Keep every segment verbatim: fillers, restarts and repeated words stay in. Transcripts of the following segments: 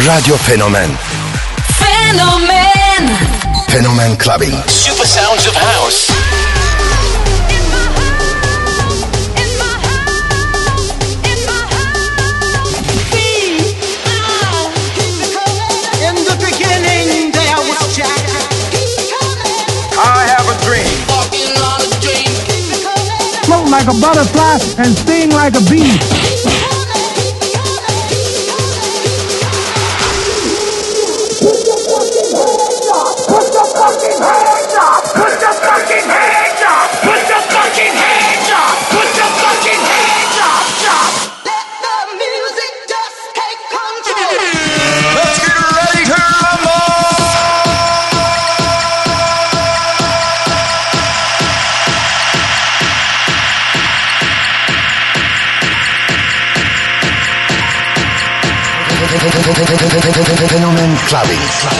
Radyo Fenomen. Fenomen. Fenomen Clubbing. Super sounds of house. In the beginning there was Jack. I have a dream. Walking on a dream. Float like a butterfly and sting like a bee. Fenomen Clubbing.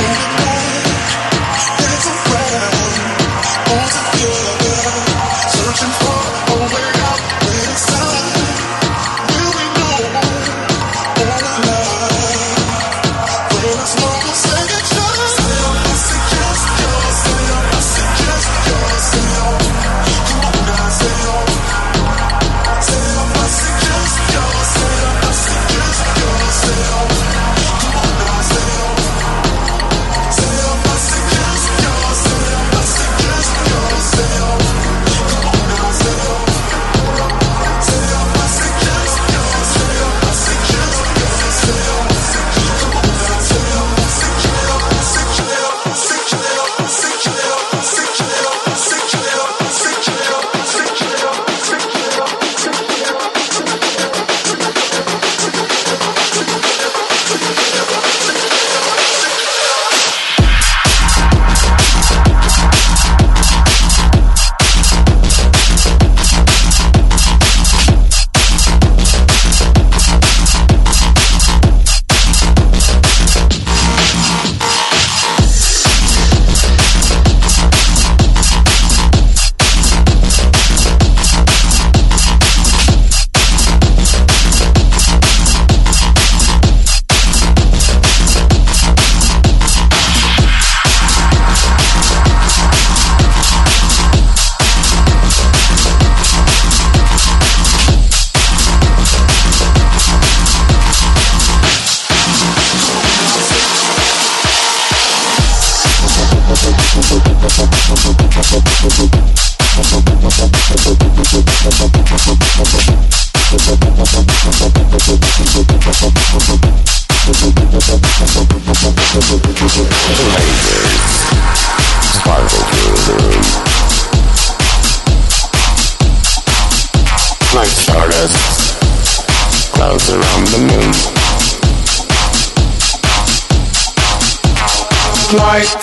Light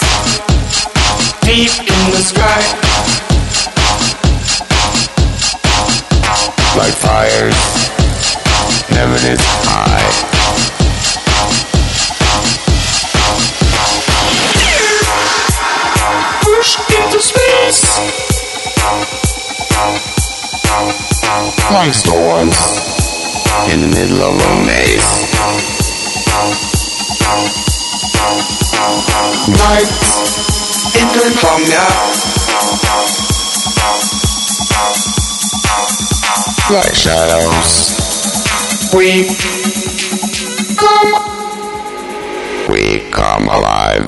deep in the sky, like fires, heaven is high. Push into space, like storms in the middle of a maze. Night insomnia, like shadows. We come, we come alive.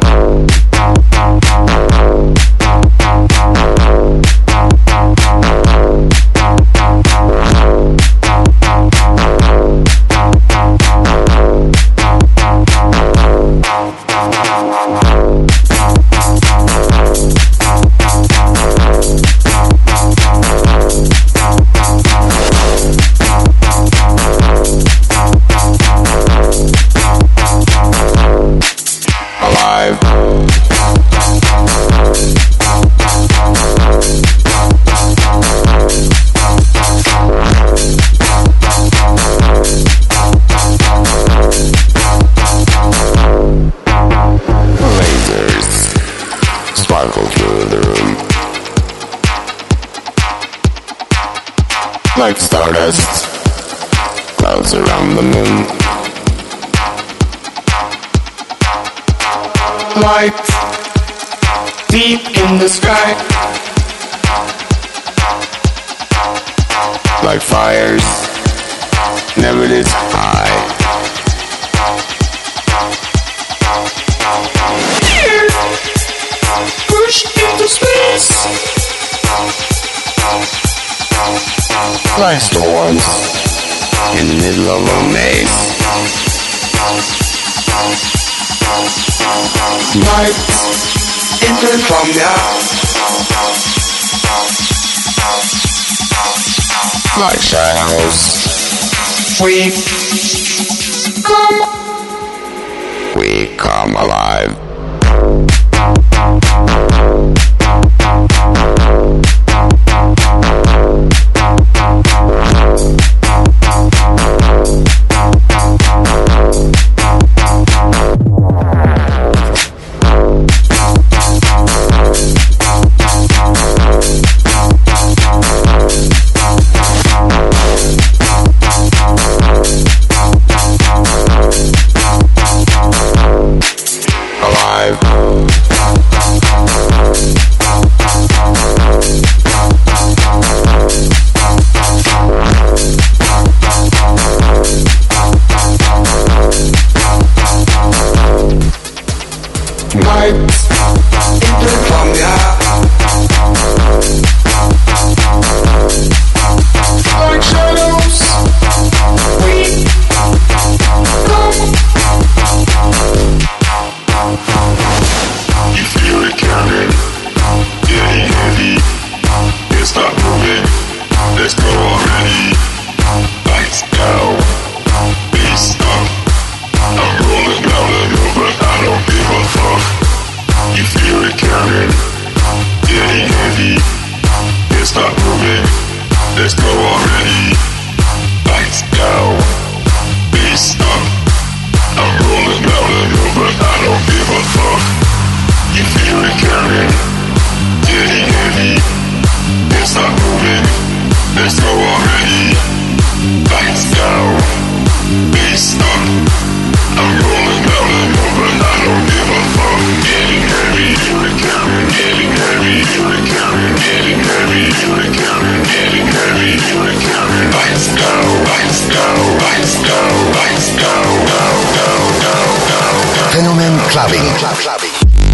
Like stardust, clouds around the moon. light deep in the sky, like fires never lit high. Here, push into space, like storms in the middle of a maze. Light enter from the like shadows. We come, we come alive. Fenomen Clubbing. Clubbing.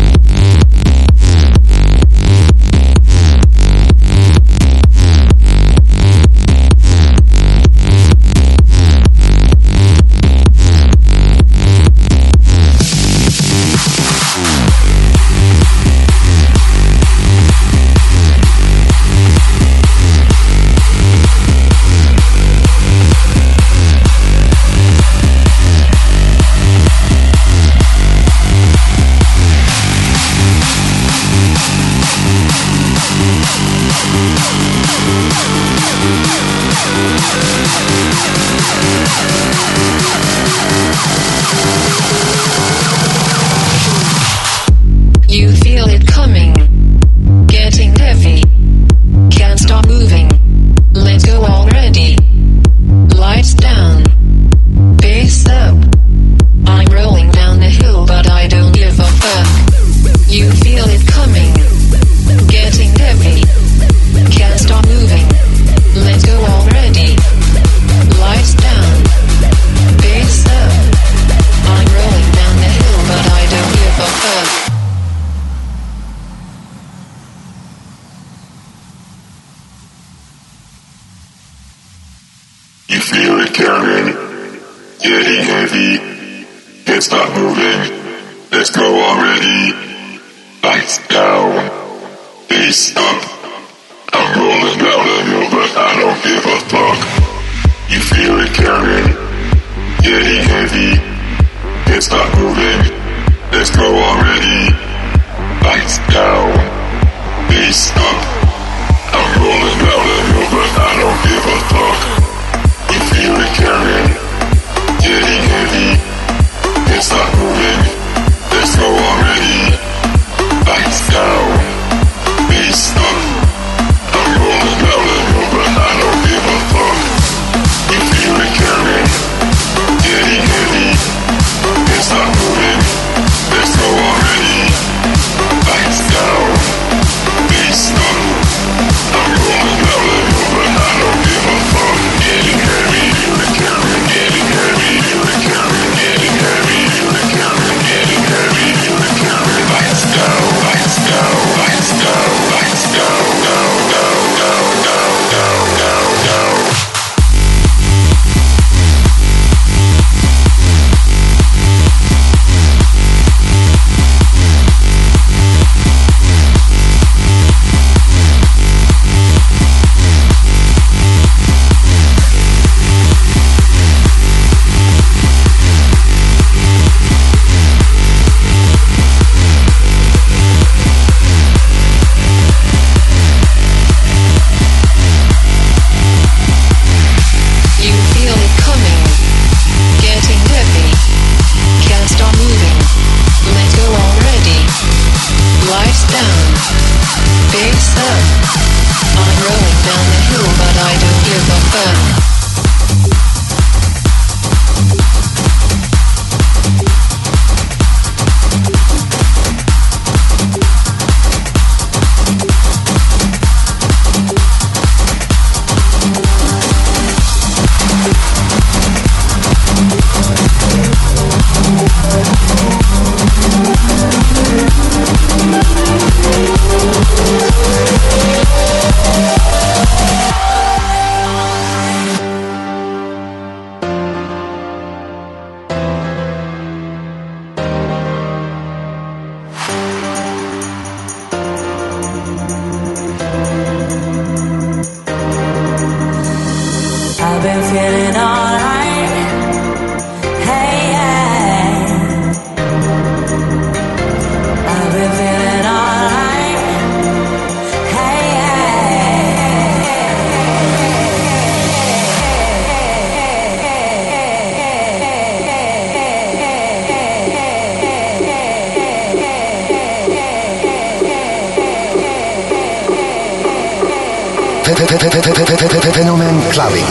You feel it coming, getting heavy, can't stop moving, let's go already. Lights down, bass up, I'm rolling down the hill but I don't give a fuck. You feel it coming, getting heavy, can't stop moving, let's go already. Lights down, bass up, I'm rolling down the hill but I don't give a fuck. You feel it coming, getting heavy, can't stop moving, let's go already. Lights down, bass up, I'm rolling down the hill but I don't give a fuck. You feel it coming, getting heavy, can't stop moving, let's go already. Lights down, bass up, I'm rolling down the hill but I don't give a fuck. You feel it coming, getting heavy, can't stop moving, let's go already. Lights down, bass up, I'm rolling down the hill but I don't give a fuck. You feel it coming, getting heavy, can't stop moving, let's go already. Fenomen Clubbing.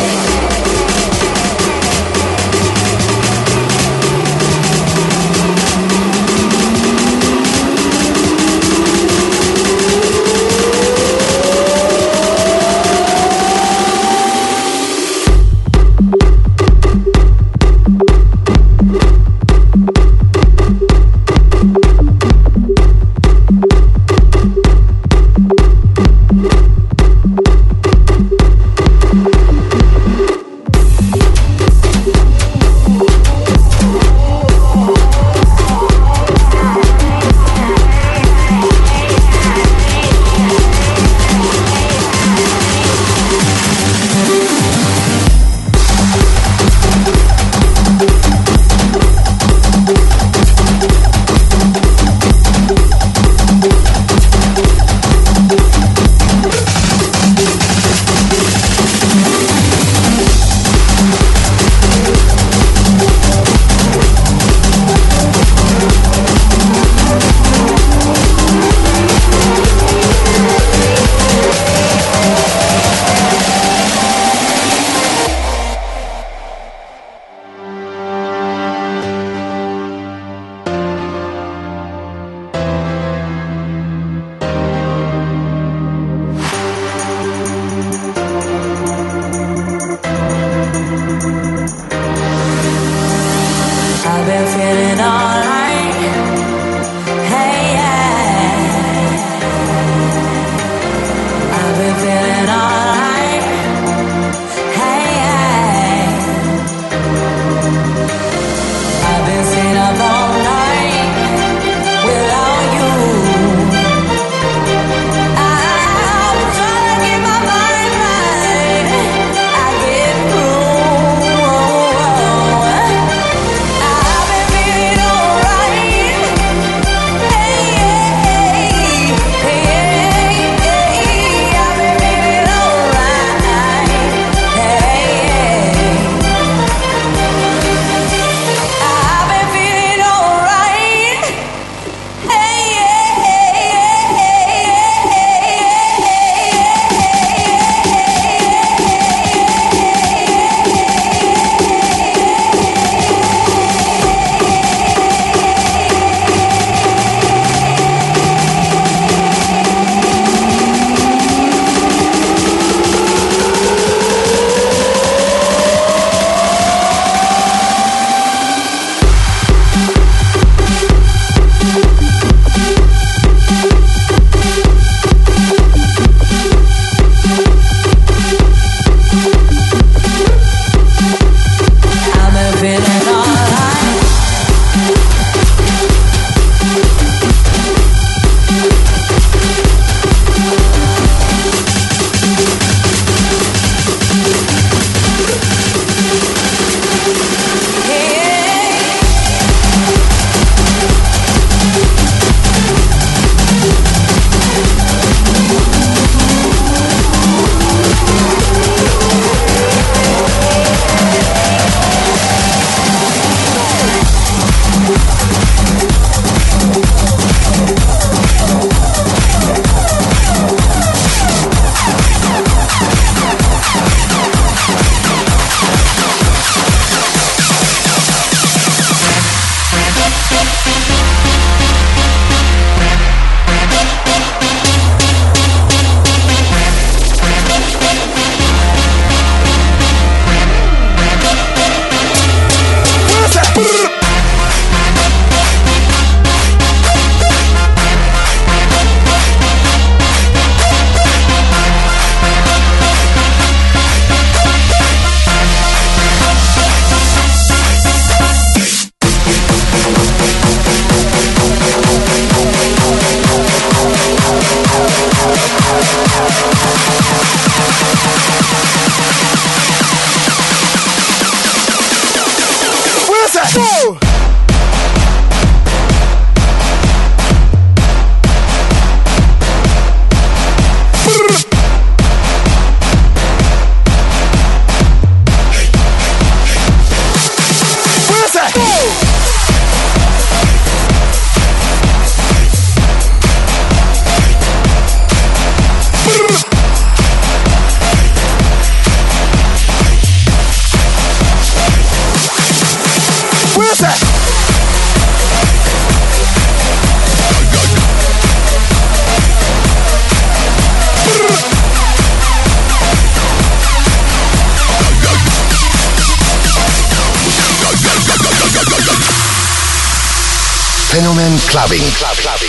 I've been feeling Where's that? Fenomen Clubbing. Club Clubbing.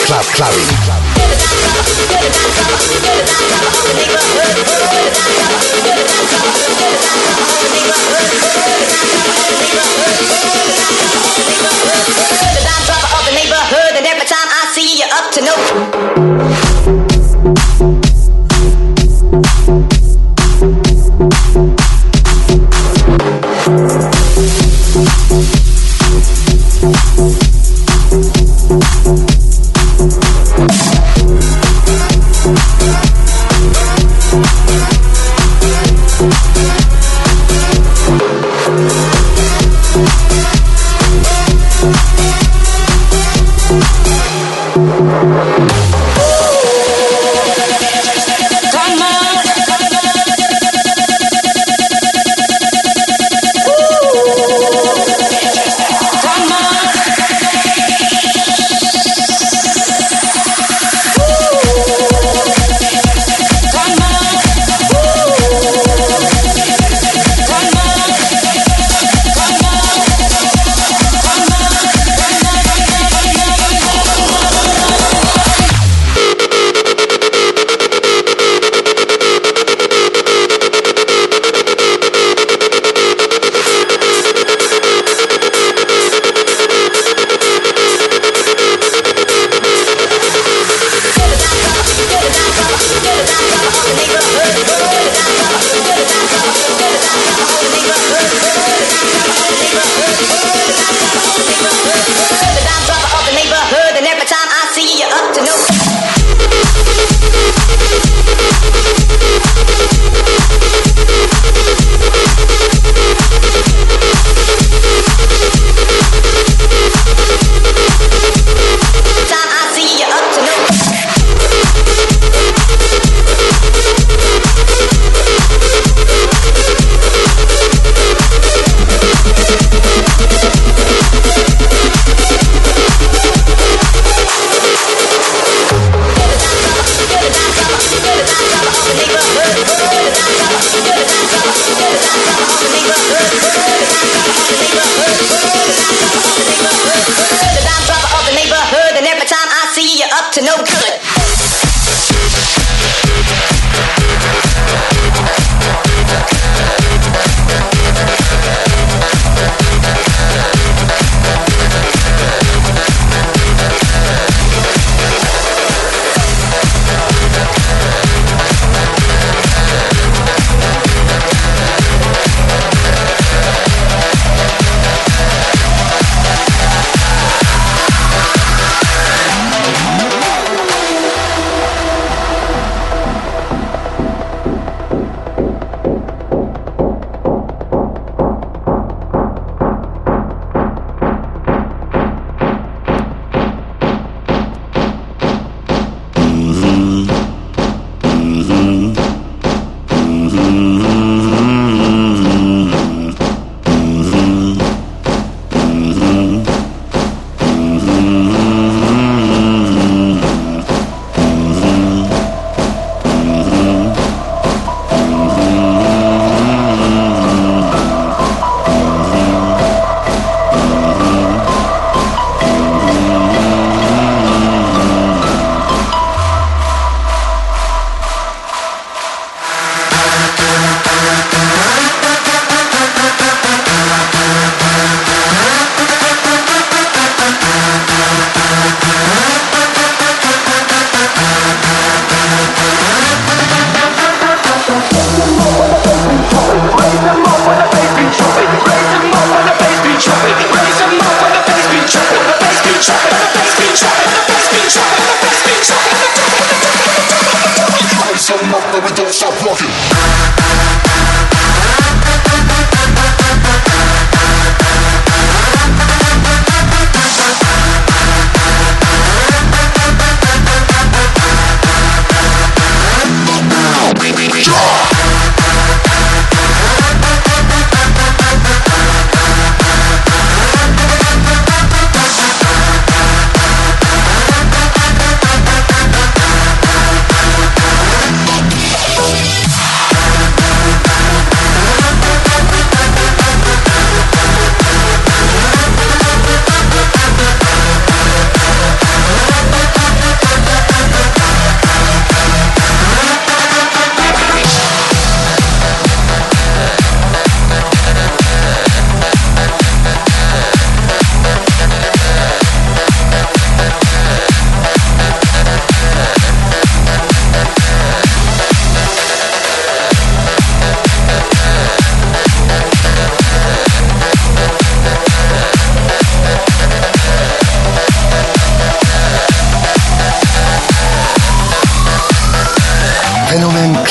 club clubbing. And every time I see you up to no.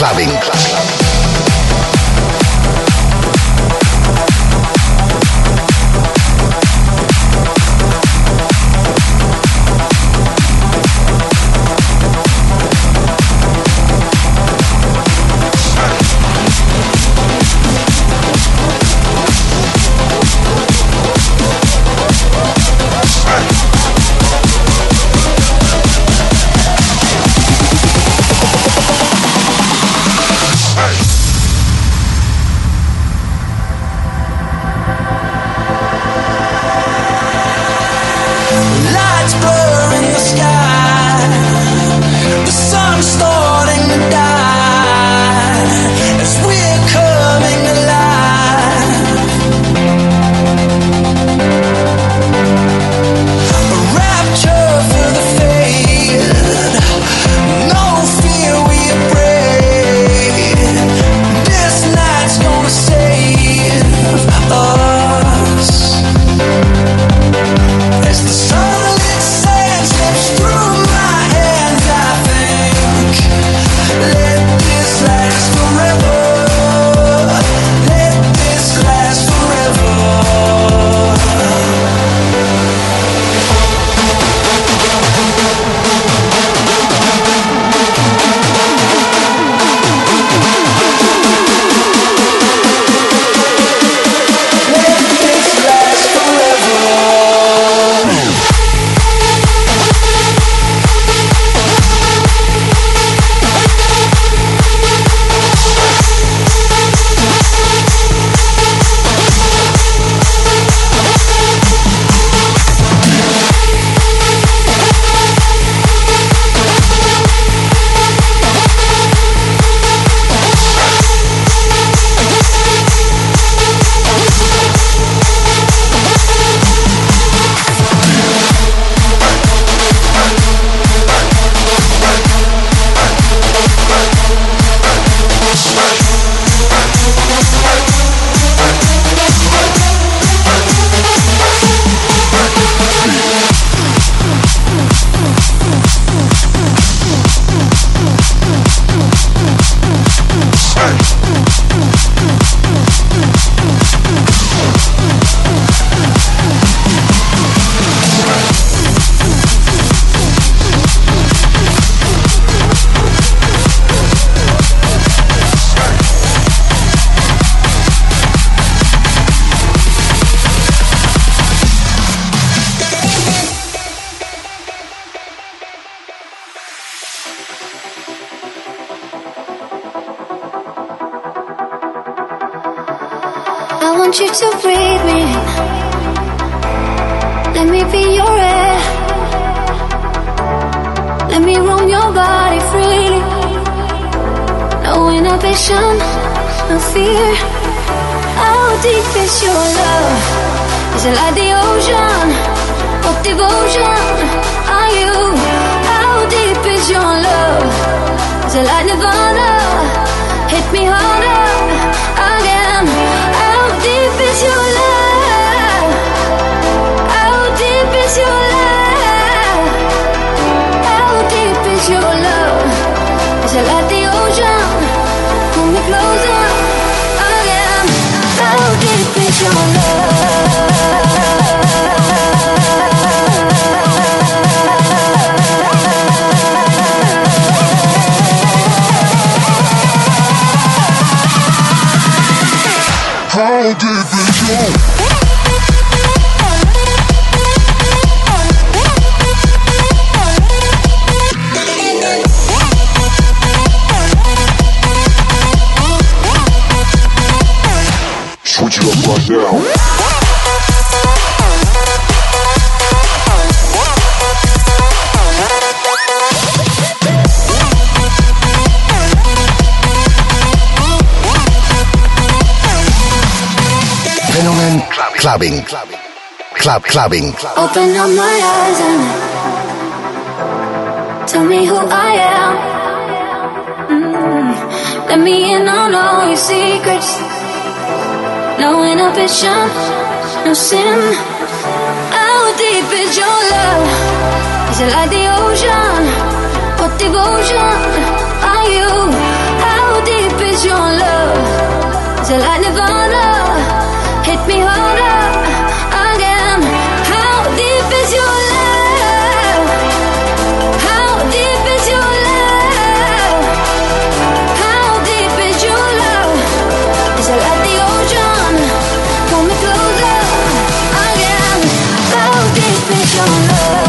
clubbing. want you to breathe me. Let me be your air. Let me roam your body freely. No inhibition, no fear. How deep is your love? Is it like the ocean? What devotion are you? How deep is your love? Is it like Nirvana? Hit me harder again. How deep is your love? How deep is your love? How deep is your love? Is it like the ocean? Pull me closer again. How deep is your love? How deep is your switch it up right now. Fenomen clubbing. Club clubbing. Open up my eyes and tell me who I am. Mm. Let me in on all your secrets. No inhibition, no sin. How deep is your love? Is it like the ocean? What devotion are you? How till like Nirvana. Hit me harder again. How deep is your love? How deep is your love? How deep is your love? Is it like the ocean? Pull me closer again. How deep is your love?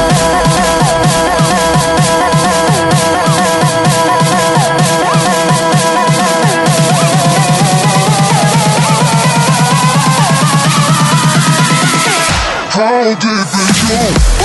How deep is your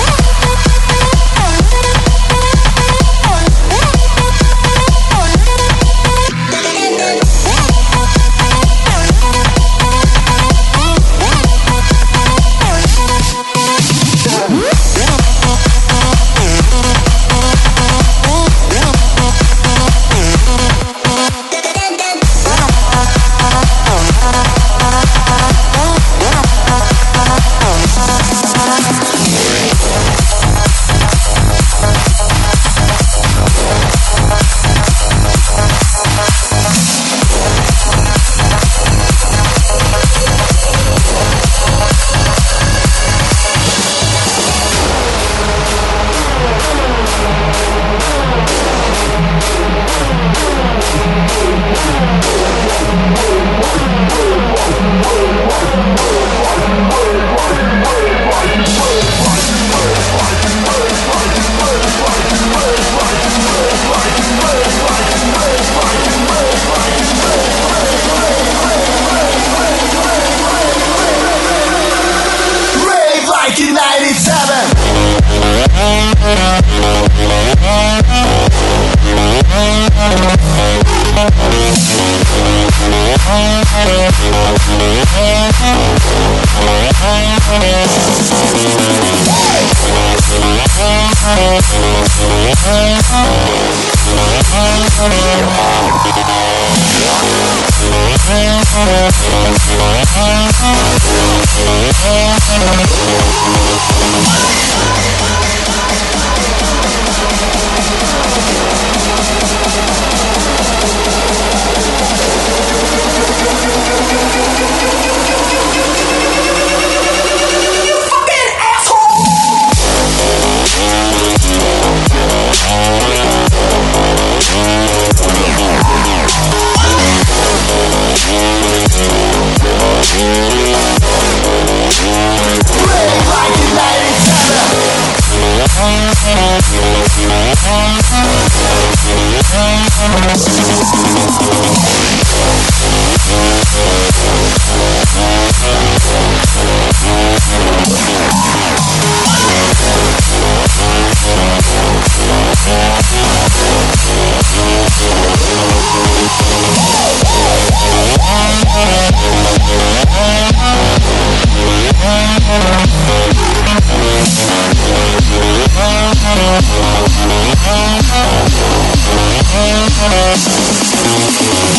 We'll be right back.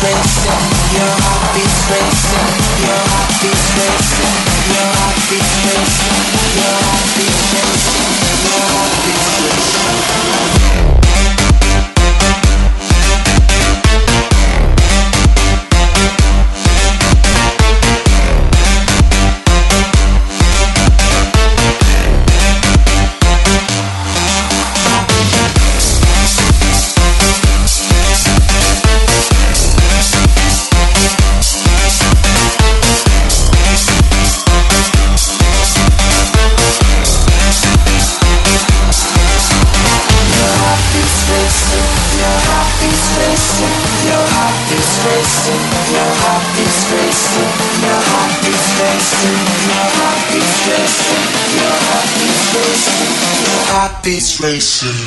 Heartbeats racing.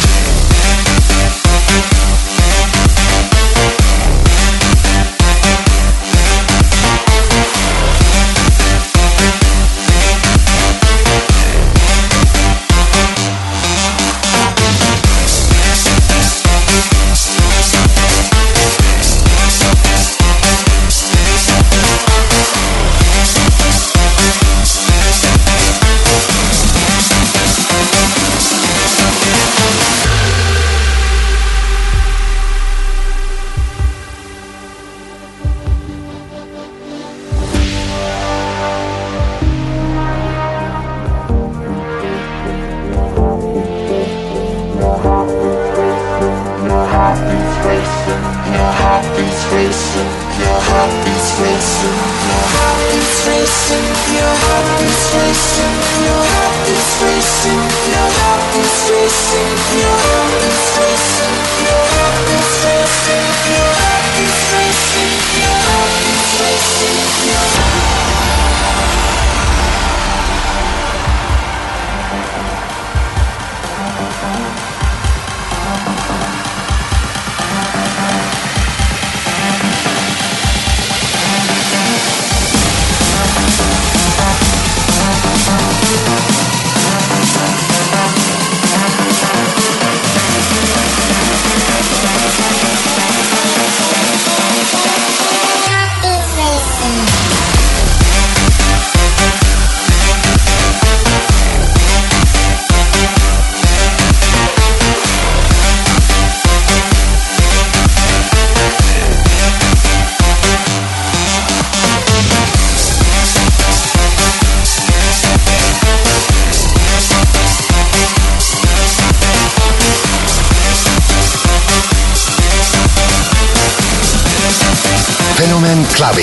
Fenomen Clubbing.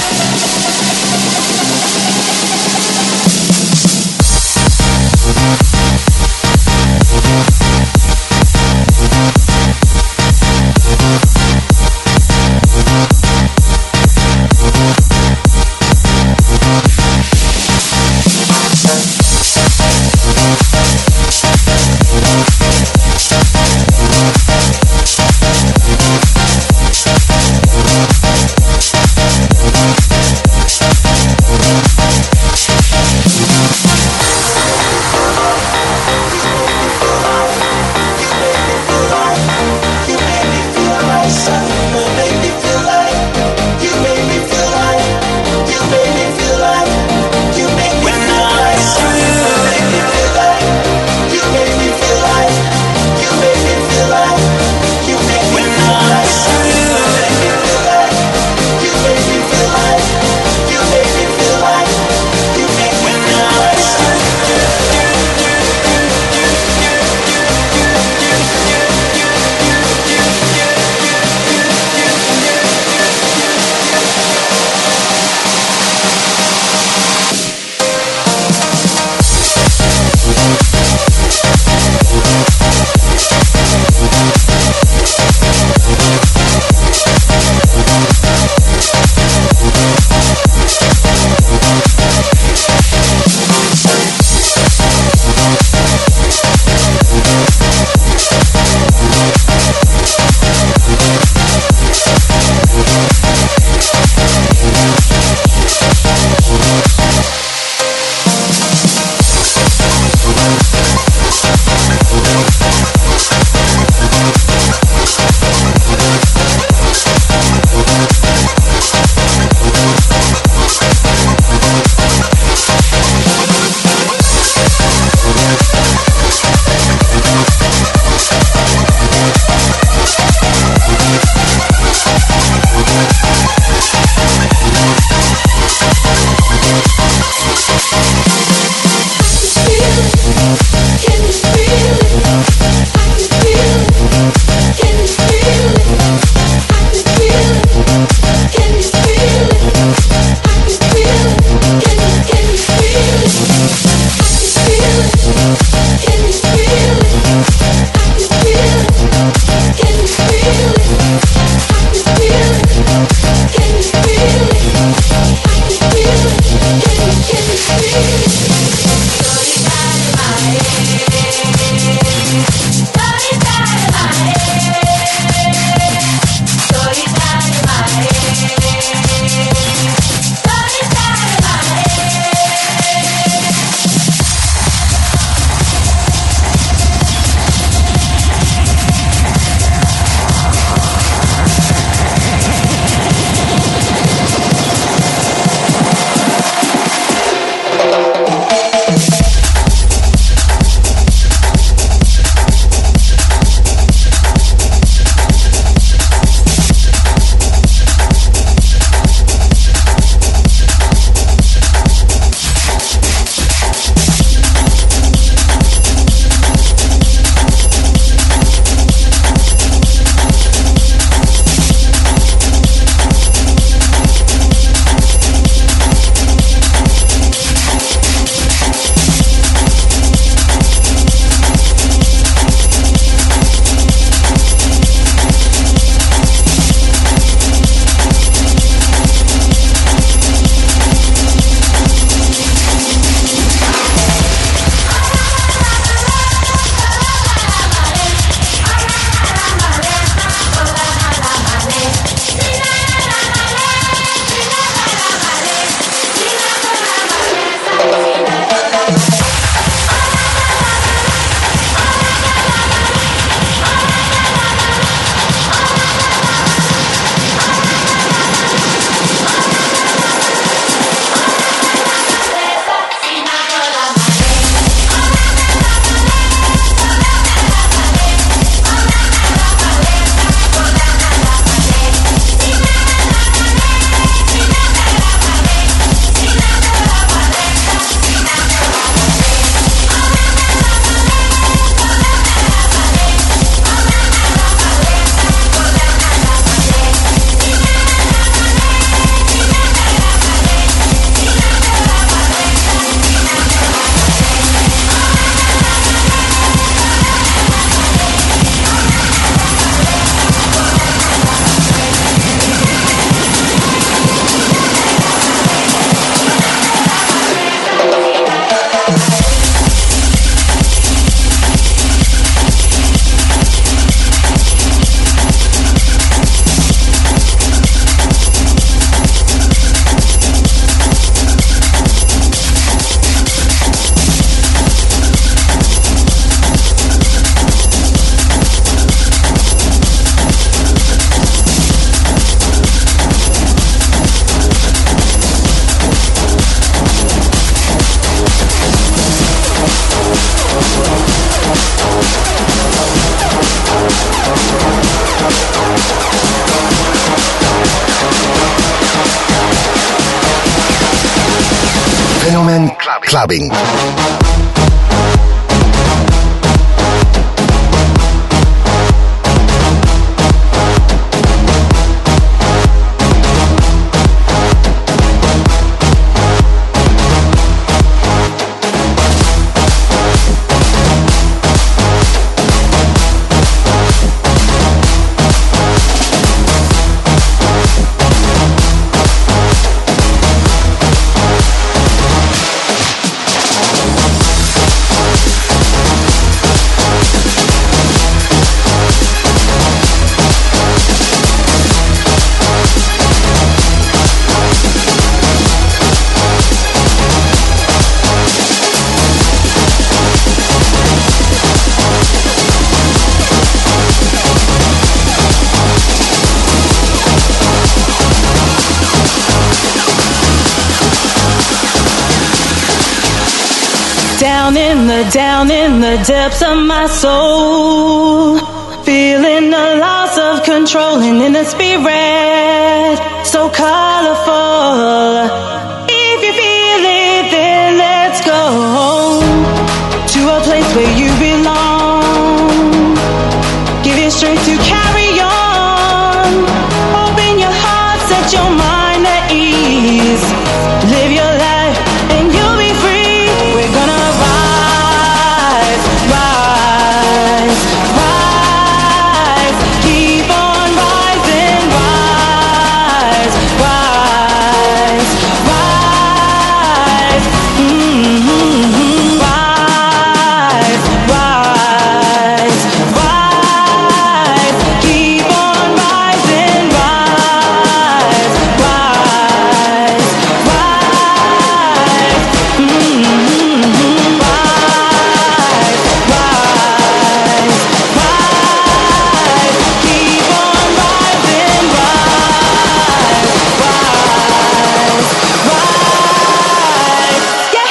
We'll be right back. Fenomen Clubbing. Down in the, down in the depths of my soul, feeling the loss of control and in the spirit, so colorful. If you feel it, then let's go to a place where you belong. Give it strength to carry on. Open your heart, set your mind at ease. Live your life and you'll be free. We're gonna rise, rise, rise. Keep on rising, rise, rise, rise. Mm-hmm. Rise, rise, rise. Keep on rising, rise, rise, rise. Mm-hmm. Rise, rise, rise. Keep on rising, rise, rise, rise. Yeah.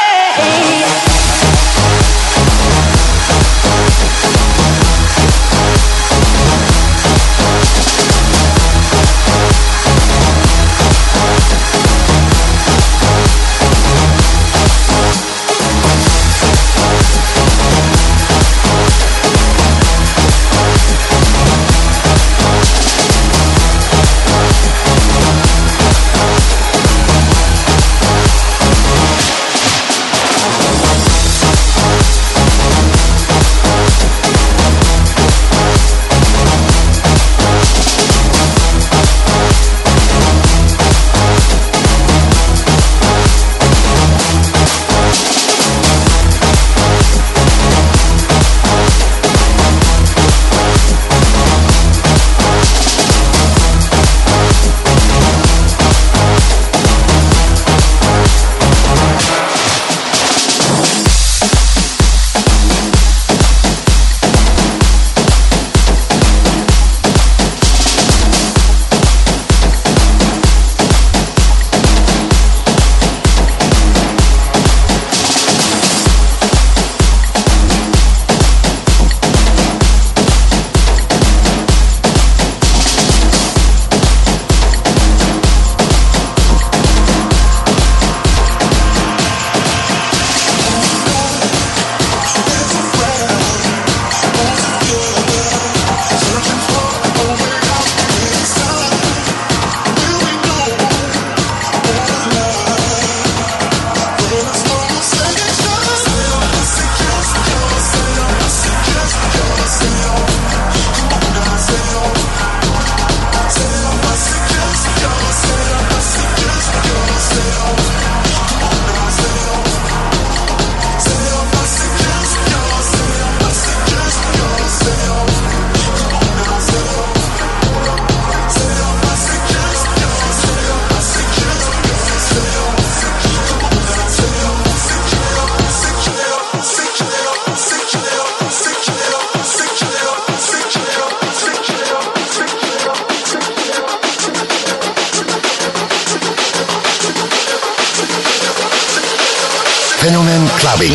Fenomen Clubbing.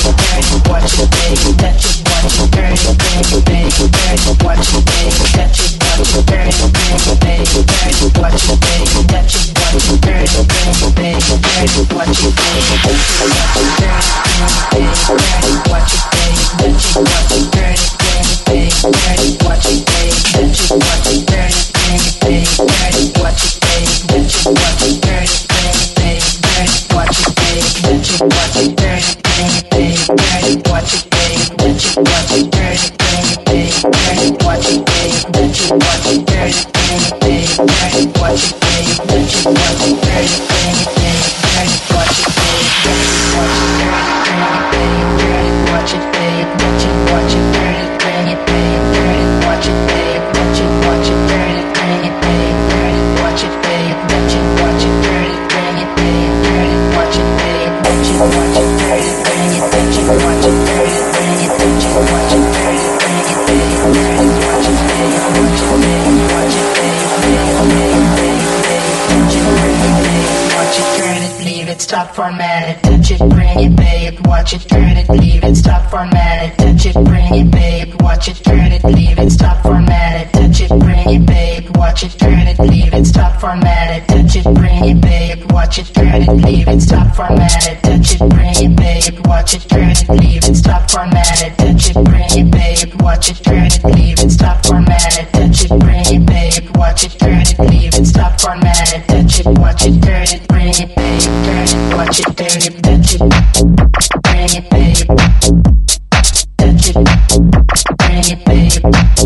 Stop, format it, touch it, bring it, babe. Watch it, turn it, leave it. Stop, format it, touch it, bring it, babe. Watch it, turn it, leave it. Stop, format it, touch it, bring it, babe. Watch it, turn it, leave it. Stop, format it, touch it, bring it, babe. Watch it, turn it, leave it. Stop, format it, touch it, bring it, babe. Watch it, turn it, leave it. Stop, format it, touch it, bring it, babe. Watch it, turn it, leave it. Stop, format it, touch it, bring it, babe. Watch it, turn it, leave it. Stop, format it, touch it, watch it, turn it, bring it, babe. Turn it, watch it, turn it, touch it, bring it, babe. Touch it, bring it, babe.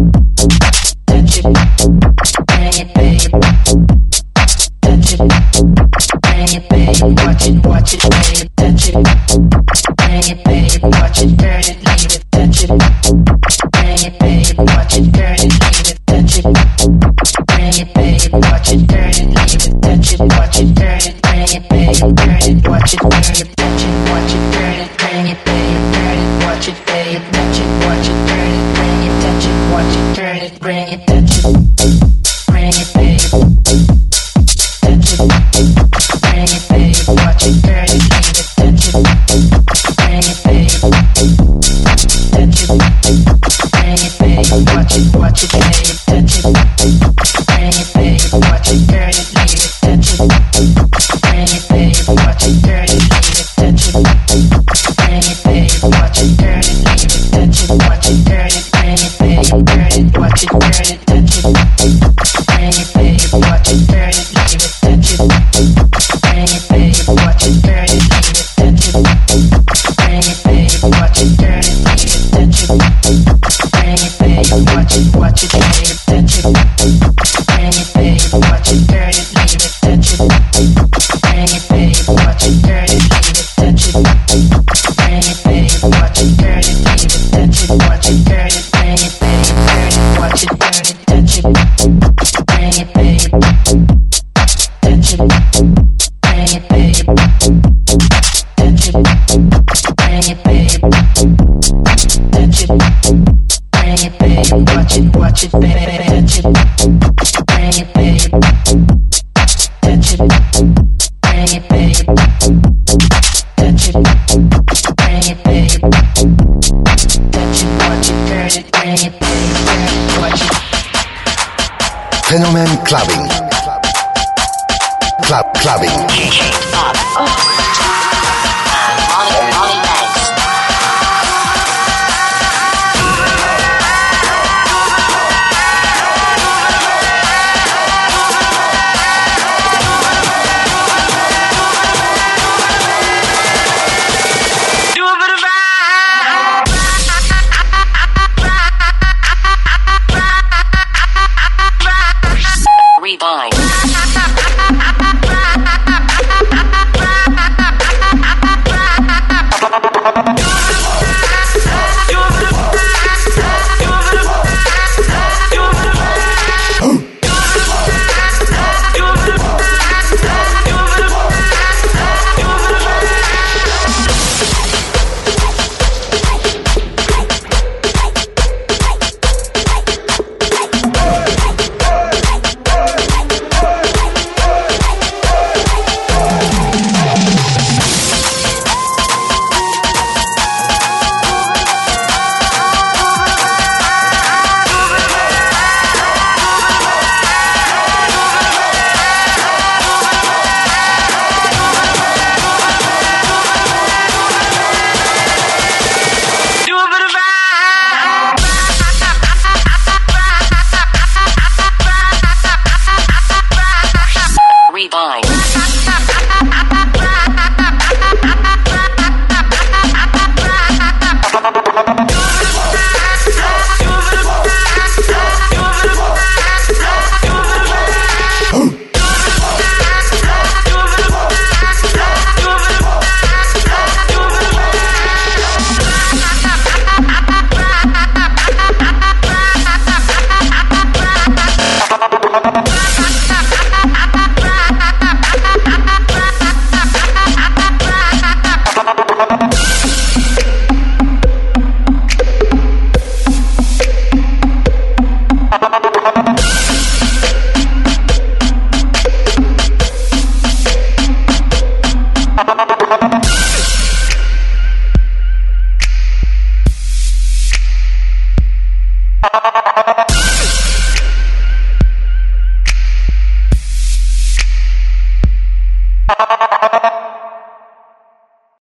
Touch it, bring it, babe. Touch it, bring it, babe. Watch it, watch it, babe. Touch it, bring it, babe. Watch it, turn it, leave it. Touch it, bring it, babe. Watch it, turn it, leave it. Touch it, bring it, babe. Watch it, turn it, leave it. Touch it, watch it, turn it, bring it, babe. Turn it, watch it, turn it, touch it, watch it, turn it, bring it, babe. Turn it, watch it, babe. Touch it, watch it, turn it, bring it, touch it, watch it, turn it, bring it, touch it, bring it, babe. Touch it, bring it, babe. Watch it, turn it, leave it. Touch it, bring it, babe. Touch it, bring it, babe. Watch it, watch it, babe. Touch it, bring it, babe. Watch it, turn it, leave it. Touch it, bring it, babe. Watch it, turn it, leave it. Touch it, bring it, babe. Watch it, turn it, leave it. Touch it, watch it, turn it, bring it, babe. Turn it, watch it, turn it, touch it, bring it, babe. Watch it, turn it, leave it. Touch it, bring it, babe. Watch it, turn it, leave it. Touch it, bring it, babe. Watch it, turn it, leave it. Touch it, bring it, babe. Watch it, watch it, babe. Touch it, bring it, babe. Watch it, turn it, leave it. Touch it, bring it, babe. Watch it, turn it, leave it. Touch it, bring it, babe. Watch it, turn it, leave it. Touch it, watch it, turn it, bring it, babe. Turn it, watch it, turn it, touch it, bring it, babe. Touch it, bring it, babe. Touch it, bring it, babe. Touch it, bring it, babe. Watch it, watch it, babe. Touch it, bring it, babe. Touch it, bring it, babe. Touch it, bring it, babe. Touch it, watch it, turn it, bring it, babe. Turn it, watch it. Fenomen Clubbing. Club Clubbing. Oh.